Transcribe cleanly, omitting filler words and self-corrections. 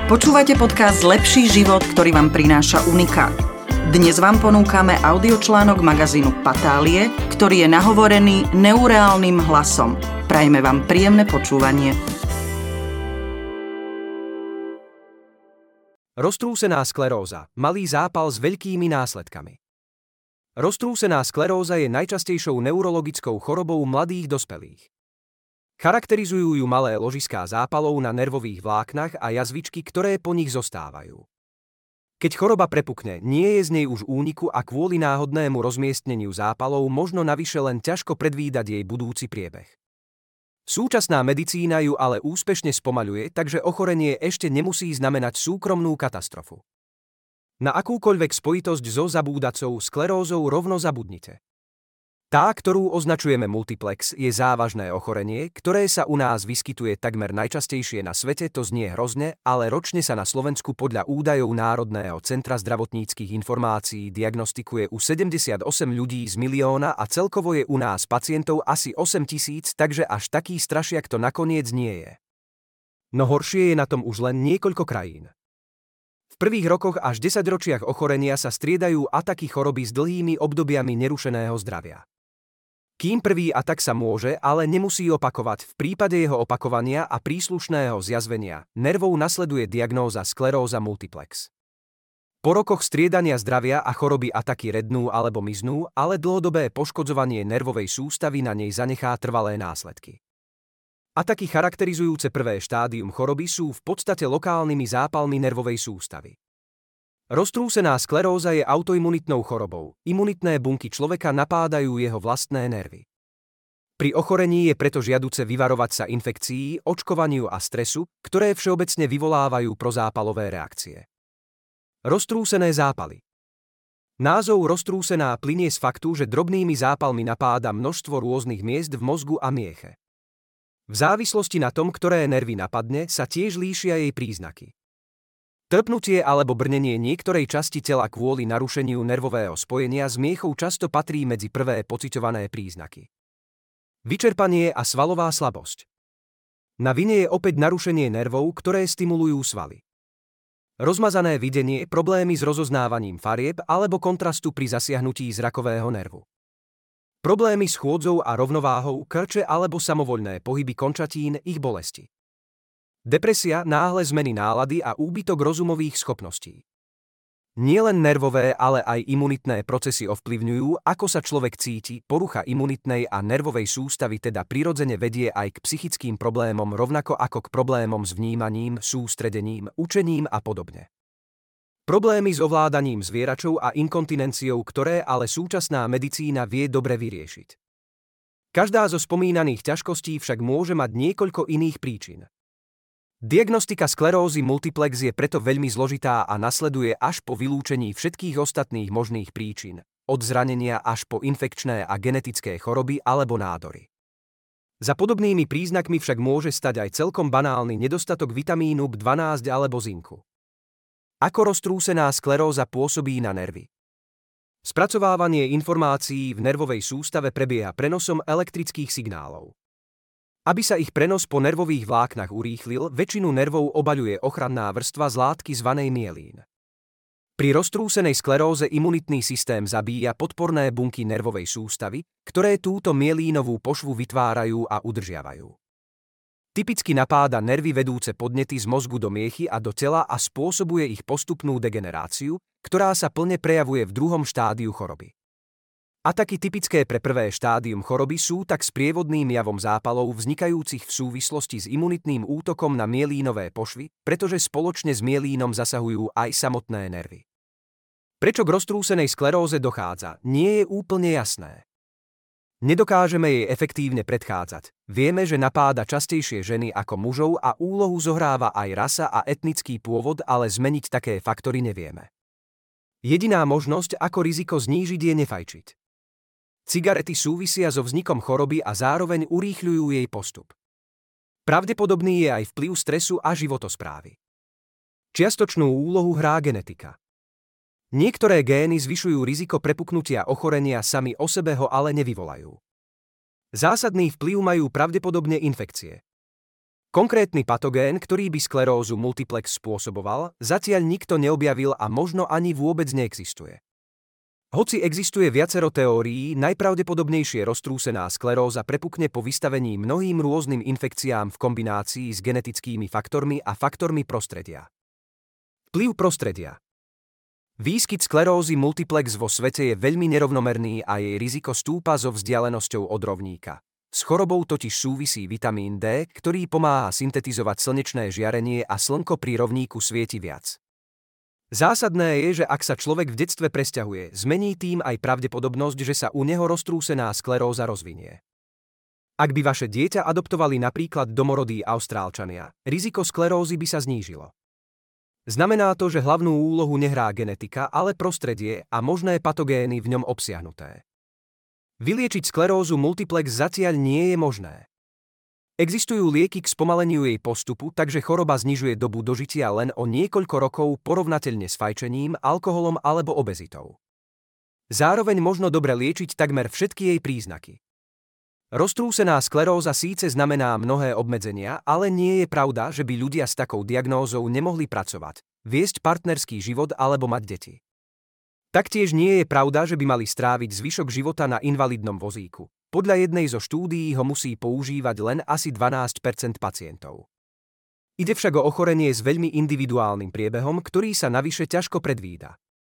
Počúvate podcast Lepší život, ktorý vám prináša Unikát. Dnes vám ponúkame audiočlánok magazínu Patálie, ktorý je nahovorený neureálnym hlasom. Prajme vám príjemné počúvanie. Roztrúsená skleróza. Malý zápal s veľkými následkami. Roztrúsená skleróza je najčastejšou neurologickou chorobou mladých dospelých. Charakterizujú ju malé ložiská zápalov na nervových vláknach a jazvičky, ktoré po nich zostávajú. Keď choroba prepukne, nie je z nej už úniku a kvôli náhodnému rozmiestneniu zápalov možno navyše len ťažko predvídať jej budúci priebeh. Súčasná medicína ju ale úspešne spomaľuje, takže ochorenie ešte nemusí znamenať súkromnú katastrofu. Na akúkoľvek spojitosť so zabúdacou sklerózou rovno zabudnite. Tá, ktorú označujeme multiplex, je závažné ochorenie, ktoré sa u nás vyskytuje takmer najčastejšie na svete, to znie hrozne, ale ročne sa na Slovensku podľa údajov Národného centra zdravotníckych informácií diagnostikuje u 78 ľudí z milióna a celkovo je u nás pacientov asi 8 000, takže až taký strašiak to nakoniec nie je. No horšie je na tom už len niekoľko krajín. V prvých rokoch až 10 ročiach ochorenia sa striedajú ataky choroby s dlhými obdobiami nerušeného zdravia. Kým prvý atak sa môže, ale nemusí opakovať, v prípade jeho opakovania a príslušného zjazvenia nervov nasleduje diagnóza skleróza multiplex. Po rokoch striedania zdravia a choroby ataky rednú alebo miznú, ale dlhodobé poškodzovanie nervovej sústavy na nej zanechá trvalé následky. Ataky charakterizujúce prvé štádium choroby sú v podstate lokálnymi zápalmi nervovej sústavy. Roztrúsená skleróza je autoimunitnou chorobou. Imunitné bunky človeka napádajú jeho vlastné nervy. Pri ochorení je preto žiaduce vyvarovať sa infekcií, očkovaniu a stresu, ktoré všeobecne vyvolávajú prozápalové reakcie. Roztrúsené zápaly. Názov roztrúsená plynie z faktu, že drobnými zápalmi napáda množstvo rôznych miest v mozgu a mieche. V závislosti na tom, ktoré nervy napadne, sa tiež líšia jej príznaky. Trpnutie alebo brnenie niektorej časti tela kvôli narušeniu nervového spojenia s miechou často patrí medzi prvé pociťované príznaky. Vyčerpanie a svalová slabosť. Na vine je opäť narušenie nervov, ktoré stimulujú svaly. Rozmazané videnie, problémy s rozoznávaním farieb alebo kontrastu pri zasiahnutí zrakového nervu. Problémy s chôdzou a rovnováhou, krče alebo samovoľné pohyby končatín, ich bolesti. Depresia, náhle zmeny nálady a úbytok rozumových schopností. Nielen nervové, ale aj imunitné procesy ovplyvňujú, ako sa človek cíti, porucha imunitnej a nervovej sústavy teda prirodzene vedie aj k psychickým problémom rovnako ako k problémom s vnímaním, sústredením, učením a podobne. Problémy s ovládaním zvieračov a inkontinenciou, ktoré ale súčasná medicína vie dobre vyriešiť. Každá zo spomínaných ťažkostí však môže mať niekoľko iných príčin. Diagnostika sklerózy multiplex je preto veľmi zložitá a nasleduje až po vylúčení všetkých ostatných možných príčin, od zranenia až po infekčné a genetické choroby alebo nádory. Za podobnými príznakmi však môže stať aj celkom banálny nedostatok vitamínu B12 alebo zinku. Ako roztrúsená skleróza pôsobí na nervy? Spracovávanie informácií v nervovej sústave prebieha prenosom elektrických signálov. Aby sa ich prenos po nervových vláknach urýchlil, väčšinu nervov obaľuje ochranná vrstva z látky zvanej myelín. Pri roztrúsenej skleróze imunitný systém zabíja podporné bunky nervovej sústavy, ktoré túto myelínovú pošvu vytvárajú a udržiavajú. Typicky napáda nervy vedúce podnety z mozgu do miechy a do tela a spôsobuje ich postupnú degeneráciu, ktorá sa plne prejavuje v druhom štádiu choroby. Ataky typické pre prvé štádium choroby sú tak sprievodným javom zápalov vznikajúcich v súvislosti s imunitným útokom na myelínové pošvy, pretože spoločne s myelínom zasahujú aj samotné nervy. Prečo k roztrúsenej skleróze dochádza, nie je úplne jasné. Nedokážeme jej efektívne predchádzať. Vieme, že napáda častejšie ženy ako mužov a úlohu zohráva aj rasa a etnický pôvod, ale zmeniť také faktory nevieme. Jediná možnosť, ako riziko znížiť, je nefajčiť. Cigarety súvisia so vznikom choroby a zároveň urýchľujú jej postup. Pravdepodobný je aj vplyv stresu a životosprávy. Čiastočnú úlohu hrá genetika. Niektoré gény zvyšujú riziko prepuknutia ochorenia, sami o sebe ho ale nevyvolajú. Zásadný vplyv majú pravdepodobne infekcie. Konkrétny patogén, ktorý by sklerózu multiplex spôsoboval, zatiaľ nikto neobjavil a možno ani vôbec neexistuje. Hoci existuje viacero teórií, najpravdepodobnejšie roztrúsená skleróza prepukne po vystavení mnohým rôznym infekciám v kombinácii s genetickými faktormi a faktormi prostredia. Vplyv prostredia. Výskyt sklerózy multiplex vo svete je veľmi nerovnomerný a jej riziko stúpa so vzdialenosťou od rovníka. S chorobou totiž súvisí vitamín D, ktorý pomáha syntetizovať slnečné žiarenie a slnko pri rovníku svieti viac. Zásadné je, že ak sa človek v detstve presťahuje, zmení tým aj pravdepodobnosť, že sa u neho roztrúsená skleróza rozvinie. Ak by vaše dieťa adoptovali napríklad domorodí Austrálčania, riziko sklerózy by sa znížilo. Znamená to, že hlavnú úlohu nehrá genetika, ale prostredie a možné patogény v ňom obsiahnuté. Vyliečiť sklerózu multiplex zatiaľ nie je možné. Existujú lieky k spomaleniu jej postupu, takže choroba znižuje dobu dožitia len o niekoľko rokov porovnateľne s fajčením, alkoholom alebo obezitou. Zároveň možno dobre liečiť takmer všetky jej príznaky. Roztrúsená skleróza síce znamená mnohé obmedzenia, ale nie je pravda, že by ľudia s takou diagnózou nemohli pracovať, viesť partnerský život alebo mať deti. Taktiež nie je pravda, že by mali stráviť zvyšok života na invalidnom vozíku. Podľa jednej zo štúdií ho musí používať len asi 12% pacientov. Ide však o ochorenie s veľmi individuálnym priebehom, ktorý sa navyše ťažko predvída.